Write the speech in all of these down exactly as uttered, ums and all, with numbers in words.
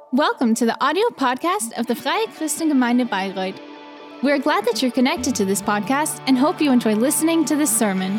Welcome to the audio podcast of the Freie Christengemeinde Bayreuth. We're glad that you're connected to this podcast and hope you enjoy listening to this sermon.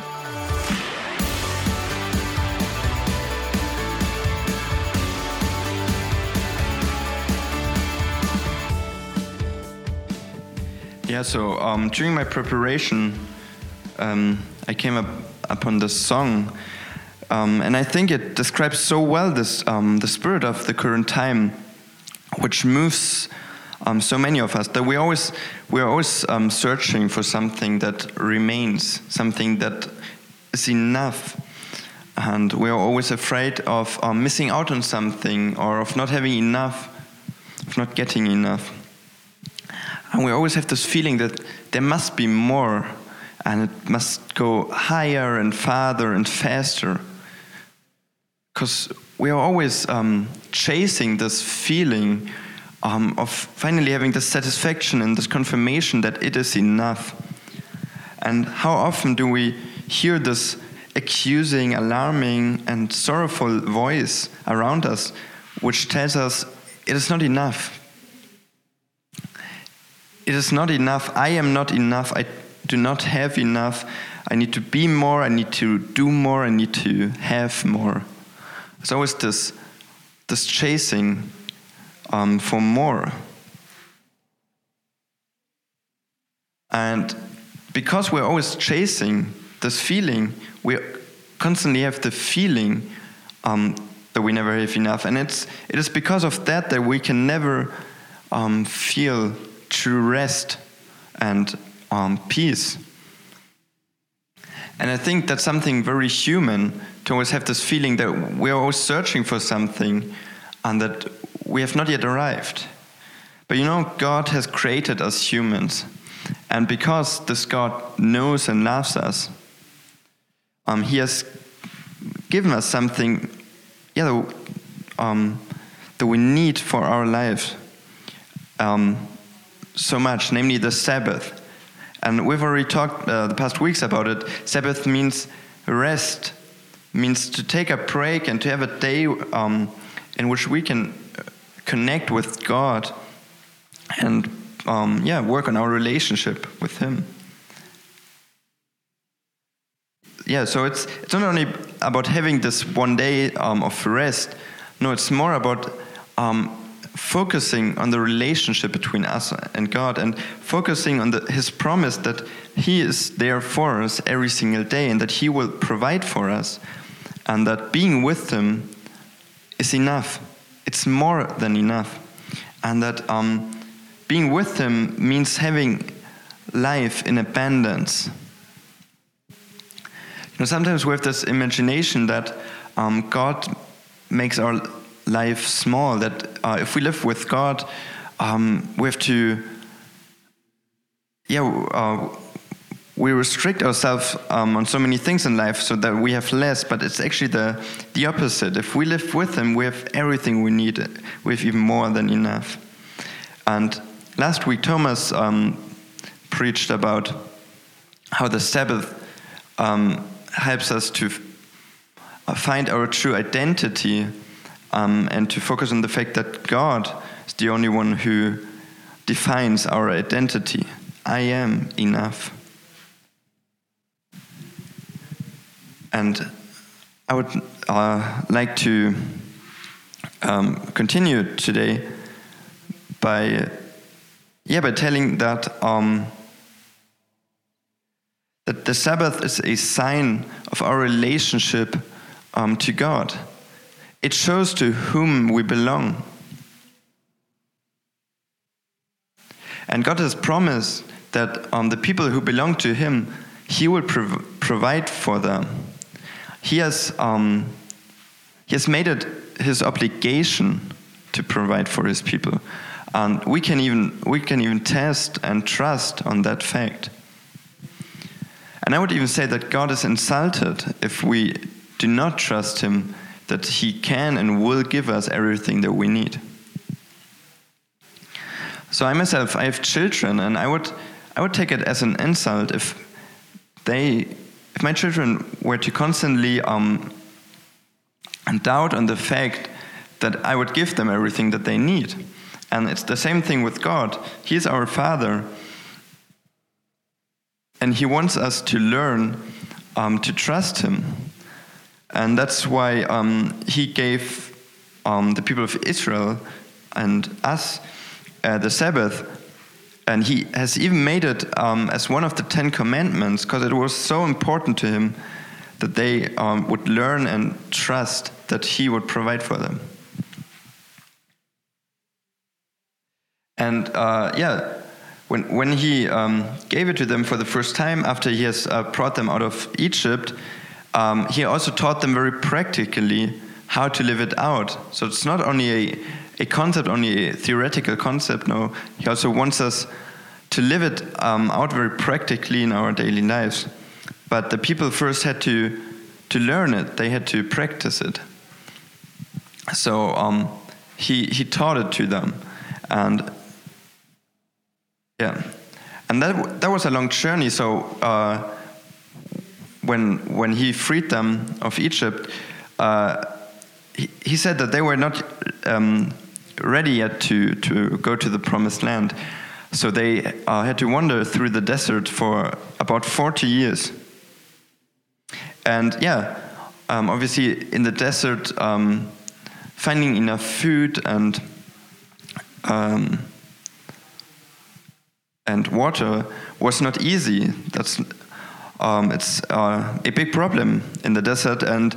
Yeah, so um, during my preparation, um, I came up upon this song, um, and I think it describes so well this um, the spirit of the current time, which moves um, so many of us. That we always we are always um, searching for something that remains, something that is enough, and we are always afraid of um, missing out on something or of not having enough, of not getting enough. And we always have this feeling that there must be more, and it must go higher and farther and faster. Because we are always um, chasing this feeling um, of finally having this satisfaction and this confirmation that it is enough. And how often do we hear this accusing, alarming, and sorrowful voice around us, which tells us it is not enough. It is not enough. I am not enough. I do not have enough. I need to be more. I need to do more. I need to have more. It's always this, this chasing um, for more. And because we're always chasing this feeling, we constantly have the feeling um, that we never have enough. And it's it is because of that that we can never um, feel true rest and um, peace. And I think that's something very human, to always have this feeling that we're always searching for something and that we have not yet arrived. But you know, God has created us humans. And because this God knows and loves us, um, He has given us something yeah, um, that we need for our lives. Um, so much, namely the Sabbath. And we've already talked uh, the past weeks about it. Sabbath means rest, means to take a break and to have a day um, in which we can connect with God and um, yeah, work on our relationship with Him. Yeah, so it's it's not only about having this one day um, of rest. No, it's more about um, focusing on the relationship between us and God, and focusing on the, His promise that He is there for us every single day and that He will provide for us, and that being with Him is enough. It's more than enough. And that um, being with Him means having life in abundance. You know, sometimes we have this imagination that um, God makes our life small, that uh, if we live with God, um, we have to, yeah, uh, we restrict ourselves um, on so many things in life so that we have less, but it's actually the, the opposite. If we live with Him, we have everything we need. We have even more than enough. And last week, Thomas um, preached about how the Sabbath um, helps us to f- find our true identity, Um, and to focus on the fact that God is the only one who defines our identity. I am enough. And I would uh, like to um, continue today by, yeah, by telling that um, that the Sabbath is a sign of our relationship um, to God. It shows to whom we belong. And God has promised that um, the people who belong to Him, He will prov- provide for them. He has, um, he has made it His obligation to provide for His people. And we can even we can even test and trust on that fact. And I would even say that God is insulted if we do not trust Him, that He can and will give us everything that we need. So I myself, I have children, and I would I would take it as an insult if they, if my children were to constantly um, doubt on the fact that I would give them everything that they need. And it's the same thing with God. He is our Father, and He wants us to learn um, to trust Him. And that's why um, He gave um, the people of Israel and us uh, the Sabbath. And He has even made it um, as one of the Ten Commandments, because it was so important to Him that they um, would learn and trust that He would provide for them. And uh, yeah, when when He um, gave it to them for the first time after He has uh, brought them out of Egypt, um, He also taught them very practically how to live it out. So it's not only a, a concept, only a theoretical concept. No, He also wants us to live it um, out very practically in our daily lives. But the people first had to to learn it. They had to practice it. So um, he he taught it to them, and yeah, and that that was a long journey. So uh, when when He freed them of Egypt, uh, he, he said that they were not um, ready yet to to go to the promised land. So they uh, had to wander through the desert for about forty years. And yeah, um, obviously in the desert, um, finding enough food and um, and water was not easy. That's um, it's uh, a big problem in the desert, and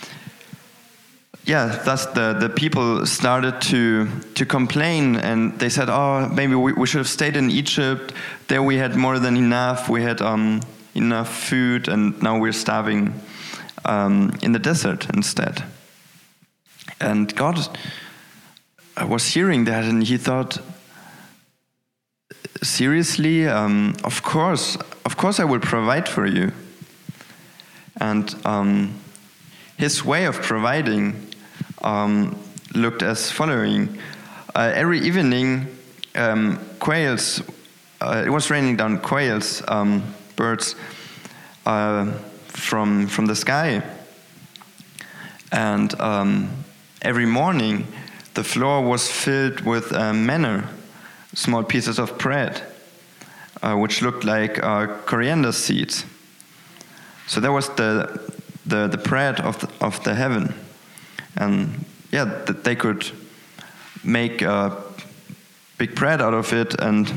yeah, thus the, the people started to to complain, and they said, "Oh, maybe we, we should have stayed in Egypt. There we had more than enough. We had um, enough food, and now we're starving um, in the desert instead." And God was hearing that, and He thought, seriously, um, of course, of course I will provide for you. And um, His way of providing um, looked as following. Uh, every evening, um, quails, uh, it was raining down quails, um, birds, uh, from from the sky. And um, every morning, the floor was filled with uh, manna, small pieces of bread, uh, which looked like uh, coriander seeds. So that was the the, the bread of the, of the heaven, and yeah, that they could make uh, big bread out of it and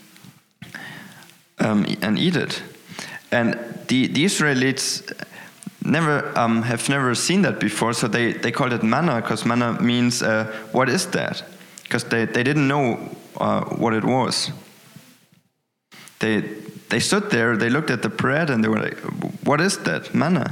um, and eat it. And the the Israelites never um, have never seen that before, so they, they called it manna, because manna means uh, what is that? Because they, they didn't know uh, what it was. They they stood there, they looked at the bread, and they were like, what is that? Manna.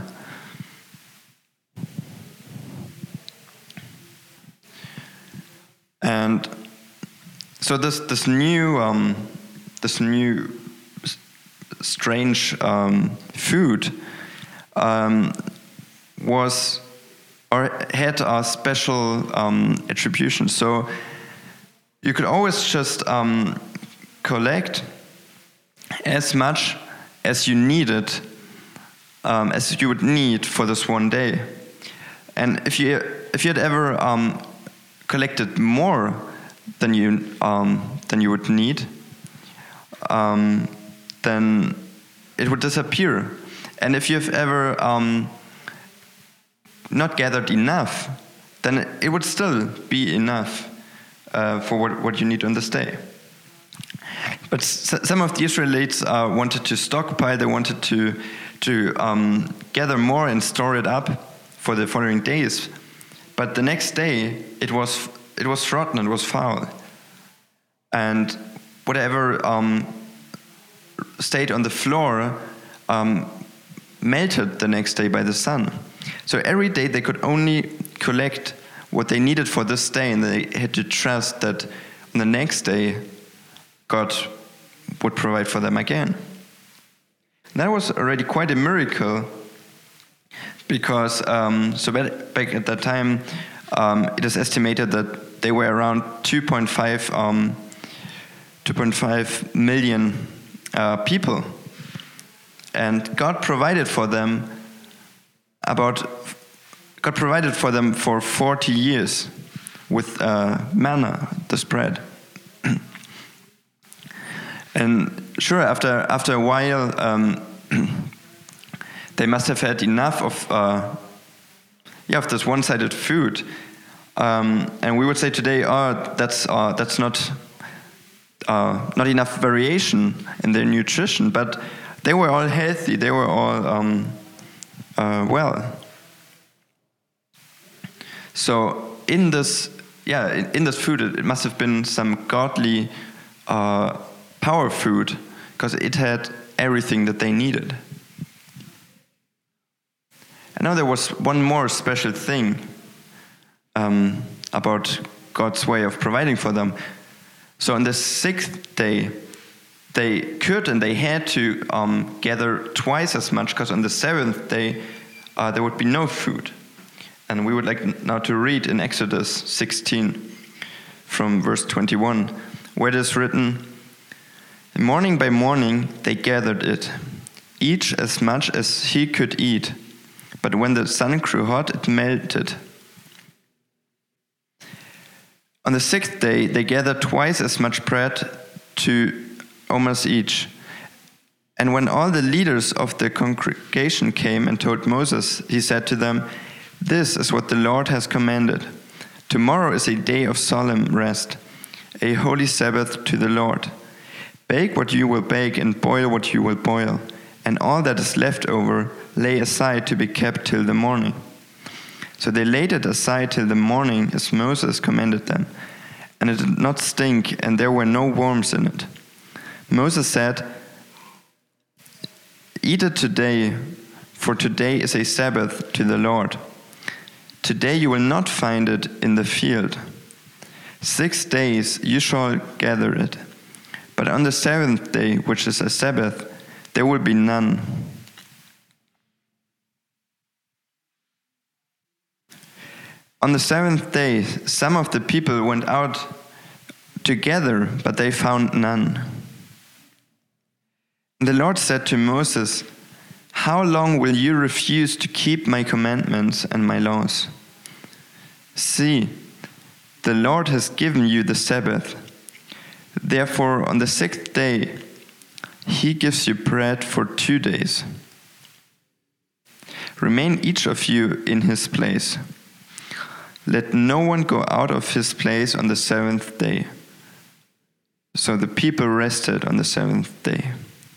And so this this new um, this new strange um, food Um, was or had a special um, attribution. So you could always just um, collect as much as you needed, um, as you would need for this one day. And if you if you had ever um, collected more than you um, than you would need, um, then it would disappear. And if you've ever um, not gathered enough, then it would still be enough uh, for what, what you need on this day. But s- some of the Israelites uh, wanted to stockpile, they wanted to, to um, gather more and store it up for the following days. But the next day, it was, it was rotten, it was foul. And whatever um, stayed on the floor um, melted the next day by the sun. So every day they could only collect what they needed for this day, and they had to trust that on the next day God would provide for them again. And that was already quite a miracle, because um, so back at that time um, it is estimated that they were around two point five um, two point five million uh, people. And God provided for them about, God provided for them for forty years. with uh, manna, the spread. And sure, after after a while, um, they must have had enough of uh, yeah of this one-sided food, um, and we would say today, oh, that's uh, that's not uh, not enough variation in their nutrition. But they were all healthy. They were all um, uh, well. So in this, yeah, in, in this food, it, it must have been some godly uh, power food, because it had everything that they needed. And now there was one more special thing um, about God's way of providing for them. So on the sixth day, they could and they had to um, gather twice as much, because on the seventh day uh, there would be no food. And we would like now to read in Exodus sixteen from verse twenty-one, where it is written, "Morning by morning they gathered it, each as much as he could eat. But when the sun grew hot, it melted. On the sixth day they gathered twice as much bread, two omers each. And when all the leaders of the congregation came and told Moses, he said to them, 'This is what the Lord has commanded. Tomorrow is a day of solemn rest, a holy Sabbath to the Lord. Bake what you will bake and boil what you will boil, and all that is left over lay aside to be kept till the morning.' So they laid it aside till the morning as Moses commanded them, and it did not stink, and there were no worms in it. Moses said, 'Eat it today, for today is a Sabbath to the Lord. Today you will not find it in the field. Six days you shall gather it, but on the seventh day, which is a Sabbath, there will be none.' On the seventh day, some of the people went out to gather, but they found none. And the Lord said to Moses, 'How long will you refuse to keep my commandments and my laws? See, the Lord has given you the Sabbath. Therefore, on the sixth day, he gives you bread for two days. Remain each of you in his place. Let no one go out of his place on the seventh day.' So the people rested on the seventh day."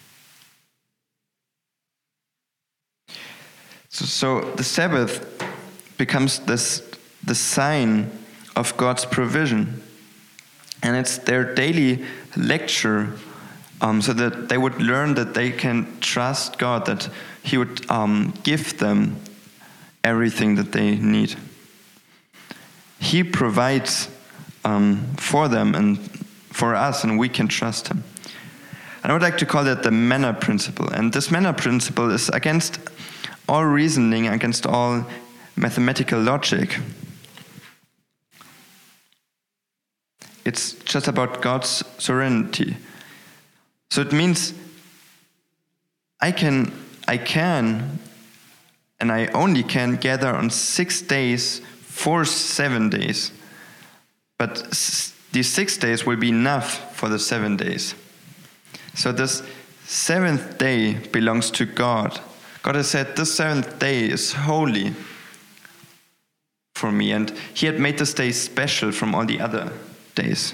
So, so the Sabbath becomes this the sign of God's provision. And it's their daily lecture, um, so that they would learn that they can trust God, that he would um, give them everything that they need. He provides um, for them and for us, and we can trust him. And I would like to call that the manna principle. And this manna principle is against all reasoning, against all mathematical logic. It's just about God's sovereignty. So it means I can, I can, and I only can gather on six days for seven days. But s- these six days will be enough for the seven days. So this seventh day belongs to God. God has said this seventh day is holy for me, and he had made this day special from all the other days.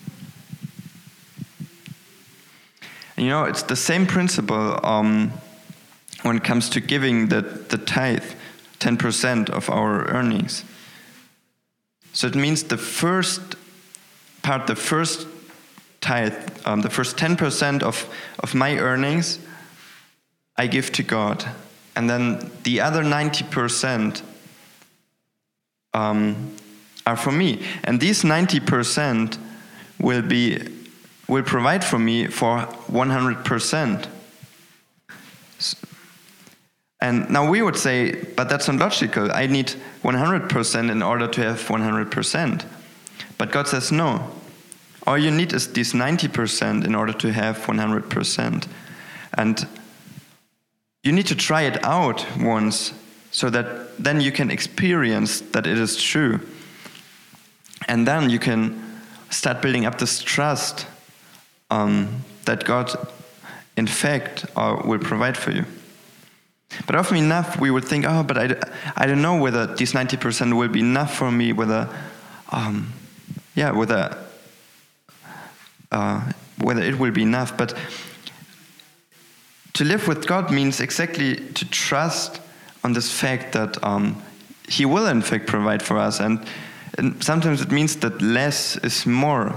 And you know, it's the same principle um, when it comes to giving the, the tithe, ten percent of our earnings. So it means the first part, the first tithe, um, the first ten percent of, of my earnings, I give to God. And then the other ninety percent um, are for me. And these ninety percent will be will provide for me for one hundred percent. And now we would say, but that's not logical. I need one hundred percent in order to have one hundred percent. But God says, no. All you need is these ninety percent in order to have one hundred percent. And you need to try it out once so that then you can experience that it is true. And then you can start building up this trust um, that God, in fact, uh, will provide for you. But often enough, we would think, oh, but I, I don't know whether these ninety percent will be enough for me, whether, um, yeah, whether, uh, whether it will be enough. But to live with God means exactly to trust on this fact that um, He will, in fact, provide for us. And, and sometimes it means that less is more.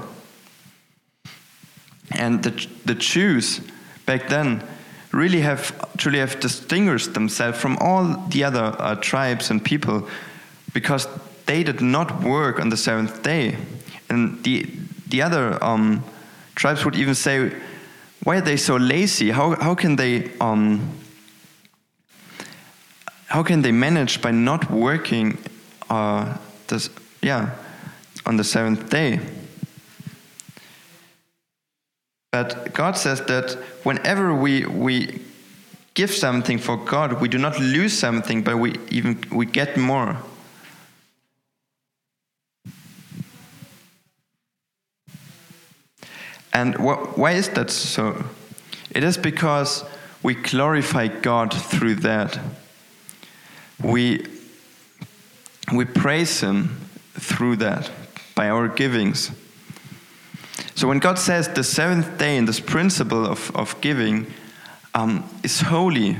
And the, the Jews back then really have truly have distinguished themselves from all the other uh, tribes and people because they did not work on the seventh day. And the the other um, tribes would even say, why are they so lazy? How how can they um, how can they manage by not working uh, this yeah on the seventh day? But God says that whenever we we give something for God, we do not lose something, but we even we get more. And wh- why is that so? It is because we glorify God through that. We we praise Him through that by our givings. So when God says the seventh day and this principle of, of giving um, is holy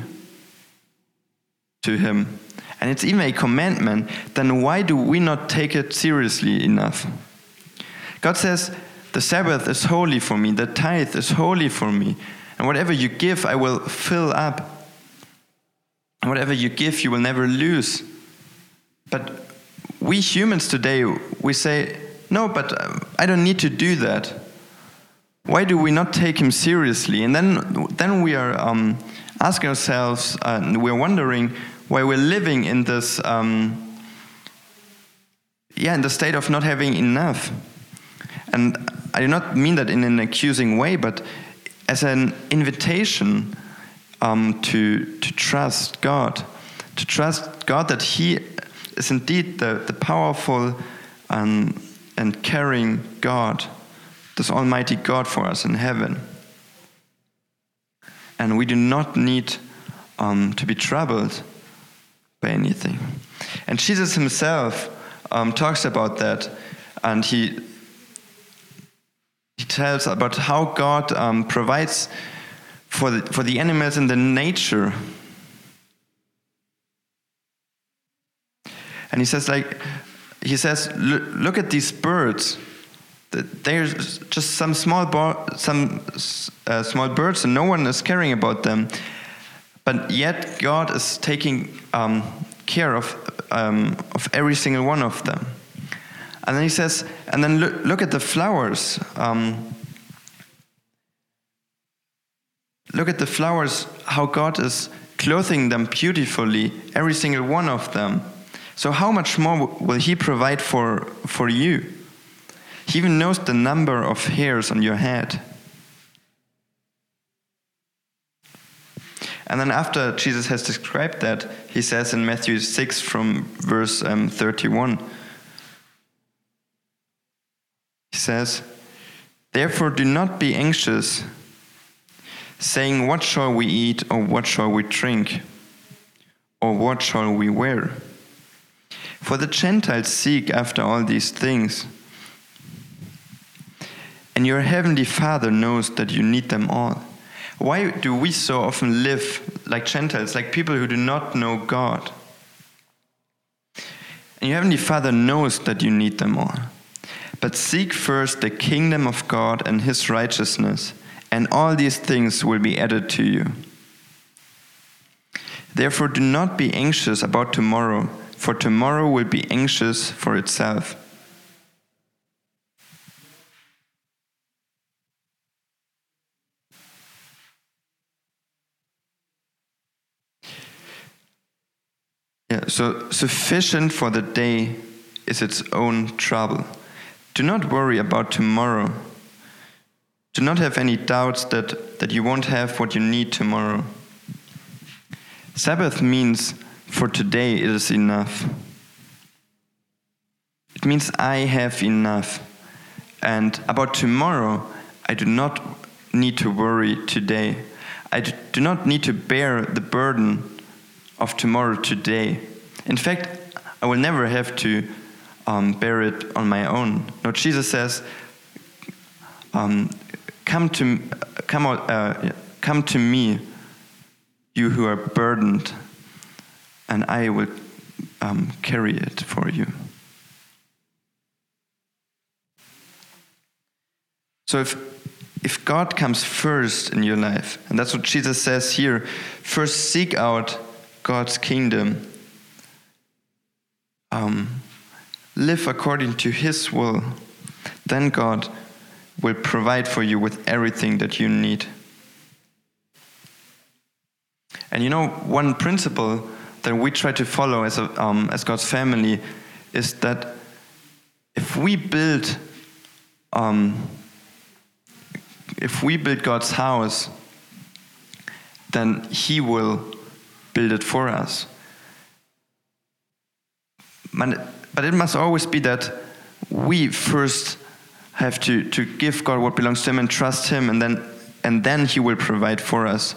to Him, and it's even a commandment, then why do we not take it seriously enough? God says, the Sabbath is holy for me, the tithe is holy for me, and whatever you give, I will fill up. And whatever you give, you will never lose. But we humans today, we say, no, but I don't need to do that. Why do we not take Him seriously? And then, then we are um, asking ourselves, uh, and we're wondering why we're living in this, um, yeah, in the state of not having enough. And I do not mean that in an accusing way, but as an invitation um, to to trust God, to trust God that He is indeed the the powerful um, and caring God, this Almighty God for us in heaven. And we do not need um, to be troubled by anything. And Jesus Himself um, talks about that, and He He tells about how God um, provides for the, for the animals in the nature. And He says, like, He says, look at these birds. There's just some small bo- some uh, small birds, and no one is caring about them. But yet God is taking um, care of um, of every single one of them. And then He says, and then look, look at the flowers. Um, look at the flowers, how God is clothing them beautifully, every single one of them. So how much more will He provide for, for you? He even knows the number of hairs on your head. And then after Jesus has described that, He says in Matthew six from verse um, thirty-one, He says, therefore do not be anxious, saying, what shall we eat, or what shall we drink, or what shall we wear? For the Gentiles seek after all these things, and your heavenly Father knows that you need them all. Why do we so often live like Gentiles, like people who do not know God? And your heavenly Father knows that you need them all. But seek first the kingdom of God and His righteousness, and all these things will be added to you. Therefore do not be anxious about tomorrow, for tomorrow will be anxious for itself. Yeah, so sufficient for the day is its own trouble. Do not worry about tomorrow. Do not have any doubts that, that you won't have what you need tomorrow. Sabbath means for today it is enough. It means I have enough. And about tomorrow, I do not need to worry today. I do not need to bear the burden of tomorrow today. In fact, I will never have to um, bear it on my own. No, Jesus says, um, "Come to, come, uh, come to me, you who are burdened, and I will um, carry it for you." So if if God comes first in your life, and that's what Jesus says here, first seek out God's kingdom. Um, live according to His will. Then God will provide for you with everything that you need. And you know, one principle that we try to follow as a, um, as God's family is that if we build, um, if we build God's house, then He will build it for us. But it must always be that we first have to, to give God what belongs to Him and trust Him, and then and then He will provide for us.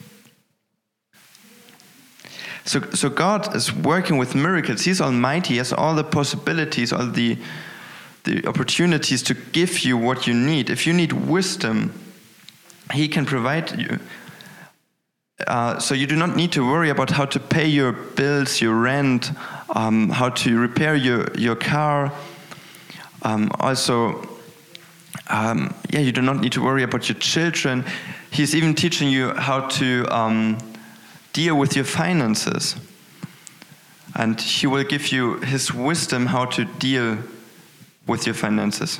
So, so God is working with miracles. He's almighty. He has all the possibilities, all the the opportunities to give you what you need. If you need wisdom, He can provide you. Uh, so you do not need to worry about how to pay your bills, your rent, um, how to repair your, your car. Um, also, um, yeah, you do not need to worry about your children. He's even teaching you how to um, deal with your finances. And He will give you His wisdom how to deal with your finances.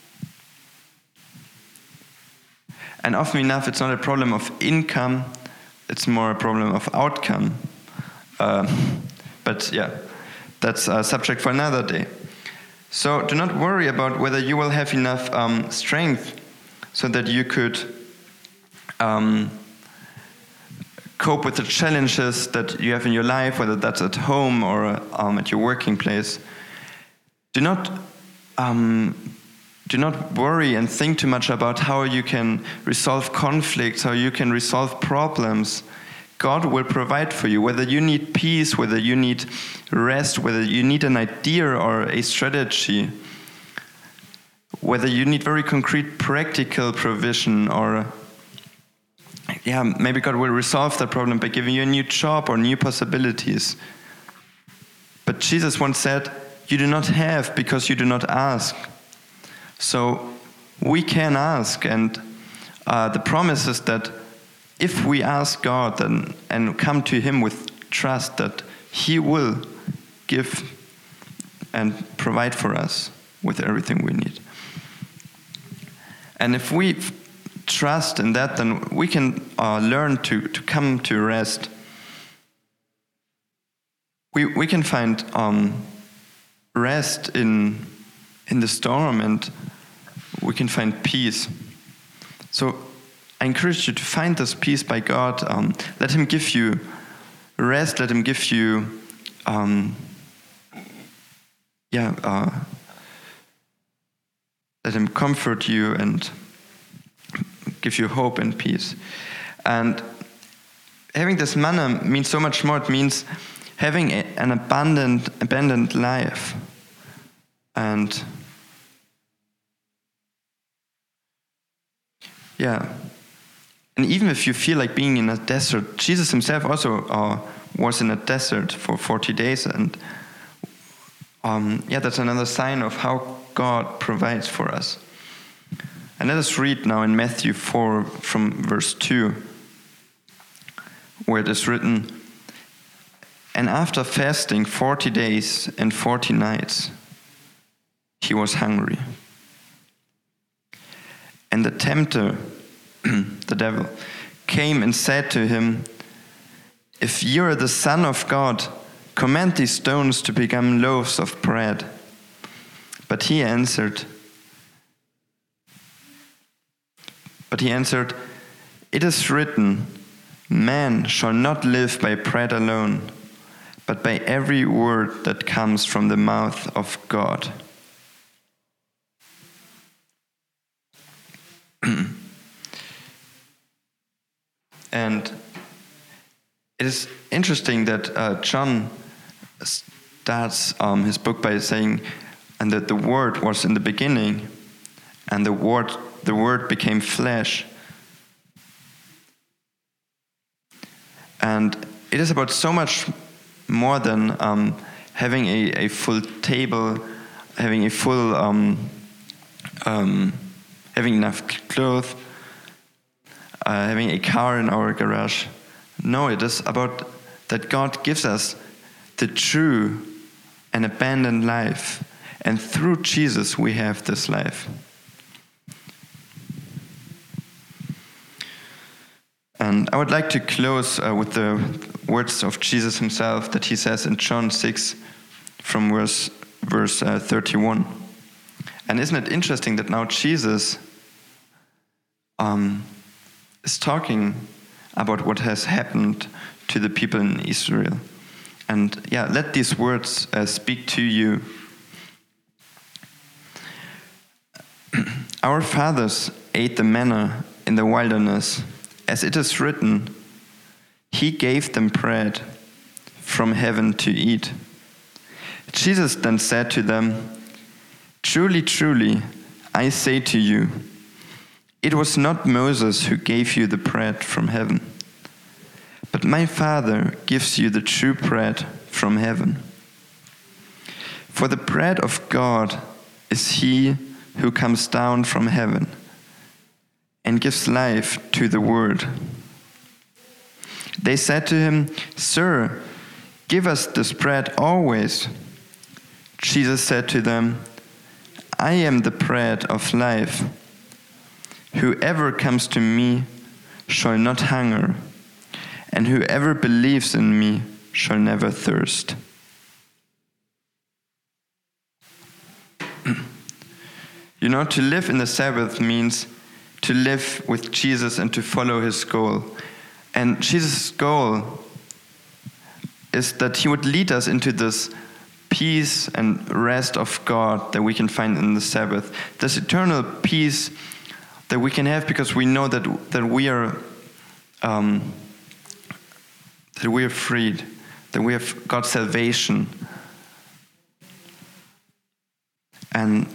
And often enough, it's not a problem of income, it's more a problem of outcome. Uh, but yeah, that's a subject for another day. So do not worry about whether you will have enough um, strength so that you could um, cope with the challenges that you have in your life, whether that's at home or um, at your working place. Do not um, do not worry and think too much about how you can resolve conflicts, how you can resolve problems. God will provide for you, whether you need peace, whether you need rest, whether you need an idea or a strategy, whether you need very concrete practical provision, or yeah, maybe God will resolve that problem by giving you a new job or new possibilities. But Jesus once said, "You do not have because you do not ask." So we can ask, and uh, the promise is that if we ask God then, and come to Him with trust, that He will give and provide for us with everything we need. And if we f- trust in that, then we can uh, learn to, to come to rest. We we can find um, rest in in the storm, and we can find peace. So I encourage you to find this peace by God. Um, let Him give you rest. Let Him give you, um, yeah, uh, let Him comfort you and give you hope and peace. And having this manna means so much more. It means having a, an abundant, abundant life. And yeah, and even if you feel like being in a desert, Jesus Himself also uh, was in a desert for forty days, and um, yeah, that's another sign of how God provides for us. And let us read now in Matthew four from verse two, where it is written, "And after fasting forty days and forty nights, He was hungry. And the tempter, the devil, came and said to Him, 'If you are the Son of God, command these stones to become loaves of bread.' But he answered, but he answered, 'It is written, man shall not live by bread alone, but by every word that comes from the mouth of God.'" And it is interesting that uh, John starts um, his book by saying, and that the Word was in the beginning, and the Word, the Word became flesh. And it is about so much more than um, having a, a full table, having a full, um, um, having enough clothes, uh, having a car in our garage. No, it is about that God gives us the true and abundant life. And through Jesus we have this life. And I would like to close uh, with the words of Jesus himself that he says in John six from verse, verse uh, thirty-one. And isn't it interesting that now Jesus um, is talking about what has happened to the people in Israel. And yeah, let these words uh, speak to you. Our fathers ate the manna in the wilderness. As it is written, he gave them bread from heaven to eat. Jesus then said to them, truly, truly, I say to you, it was not Moses who gave you the bread from heaven, but my Father gives you the true bread from heaven. For the bread of God is he who comes down from heaven and gives life to the world. They said to him, Sir, give us this bread always. Jesus said to them, I am the bread of life. Whoever comes to me shall not hunger, and whoever believes in me shall never thirst. You know, to live in the Sabbath means to live with Jesus and to follow his goal. And Jesus' goal is that he would lead us into this peace and rest of God that we can find in the Sabbath. This eternal peace that we can have because we know that that we are um, that we are freed, that we have God's salvation. And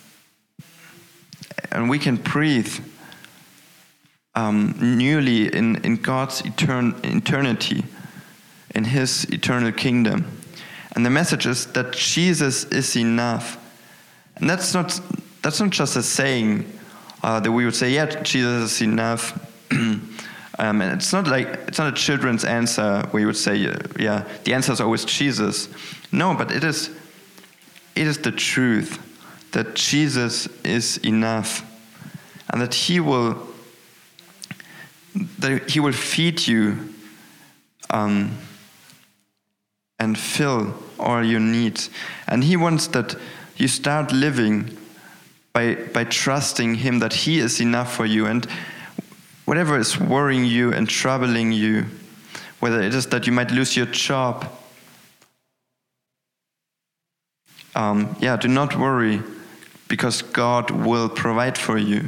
and we can breathe Um, newly in, in God's etern- eternity, in his eternal kingdom. And the message is that Jesus is enough. And that's not that's not just a saying uh, that we would say, yeah, Jesus is enough. um, and it's not like it's not a children's answer where you would say, yeah, the answer is always Jesus. No, but it is it is the truth that Jesus is enough, and that he will that he will feed you um, and fill all your needs. And he wants that you start living by by trusting him that he is enough for you. And whatever is worrying you and troubling you, whether it is that you might lose your job, um, yeah, do not worry, because God will provide for you.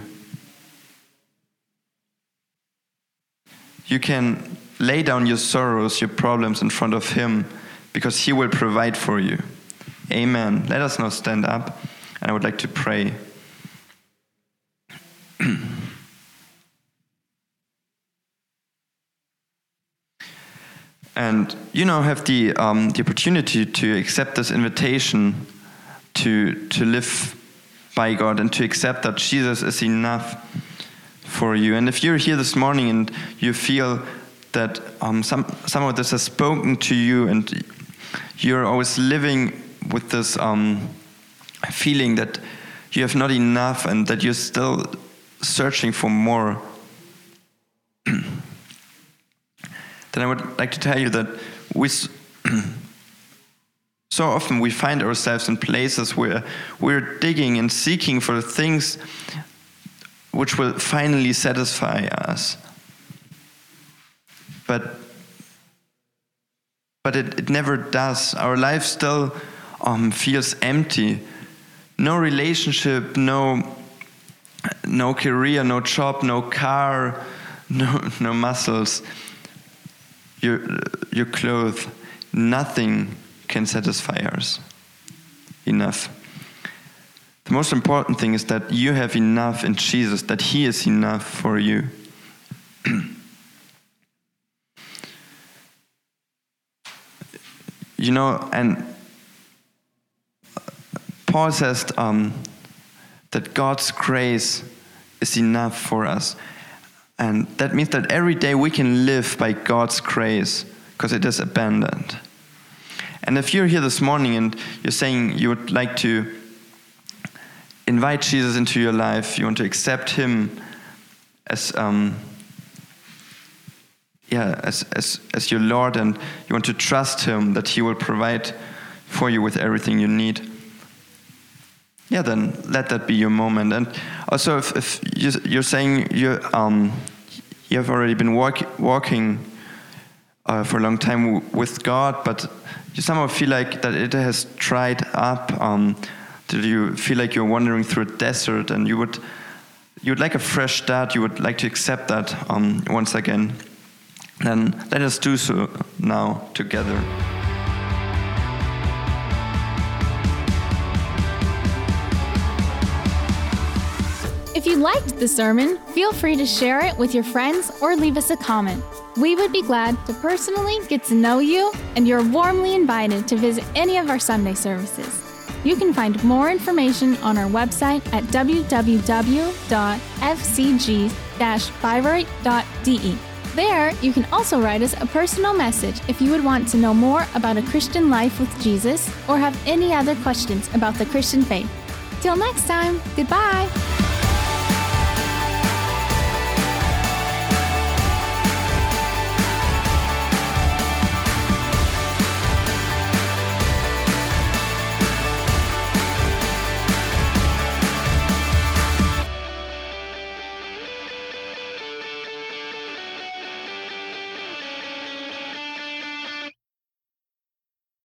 You can lay down your sorrows, your problems in front of him, because he will provide for you. Amen. Let us now stand up, and I would like to pray. And you now have the um, the opportunity to accept this invitation to to live by God and to accept that Jesus is enough for you. And if you're here this morning and you feel that um, some some of this has spoken to you, and you're always living with this um, feeling that you have not enough and that you're still searching for more, then I would like to tell you that we so often we find ourselves in places where we're digging and seeking for things which will finally satisfy us. But but it, it never does. Our life still um, feels empty. No relationship, no no career, no job, no car, no no muscles, your your clothes, nothing can satisfy us enough. The most important thing is that you have enough in Jesus, that He is enough for you. You know, and Paul says um, that God's grace is enough for us. And that means that every day we can live by God's grace because it is abundant. And if you're here this morning and you're saying you would like to invite Jesus into your life, you want to accept Him as um, yeah, as, as as your Lord, and you want to trust Him that He will provide for you with everything you need, yeah, then let that be your moment. And also, if, if you're saying you um you have already been walk, walking uh, for a long time w- with God, but you somehow feel like that it has dried up. Um, that you feel like you're wandering through a desert, and you would you would like a fresh start. You would like to accept that um, once again. Then let us do so now together. If you liked the sermon, feel free to share it with your friends or leave us a comment. We would be glad to personally get to know you, and you're warmly invited to visit any of our Sunday services. You can find more information on our website at w w w dot f c g dash bayreuth dot d e. There, you can also write us a personal message if you would want to know more about a Christian life with Jesus or have any other questions about the Christian faith. Till next time, goodbye!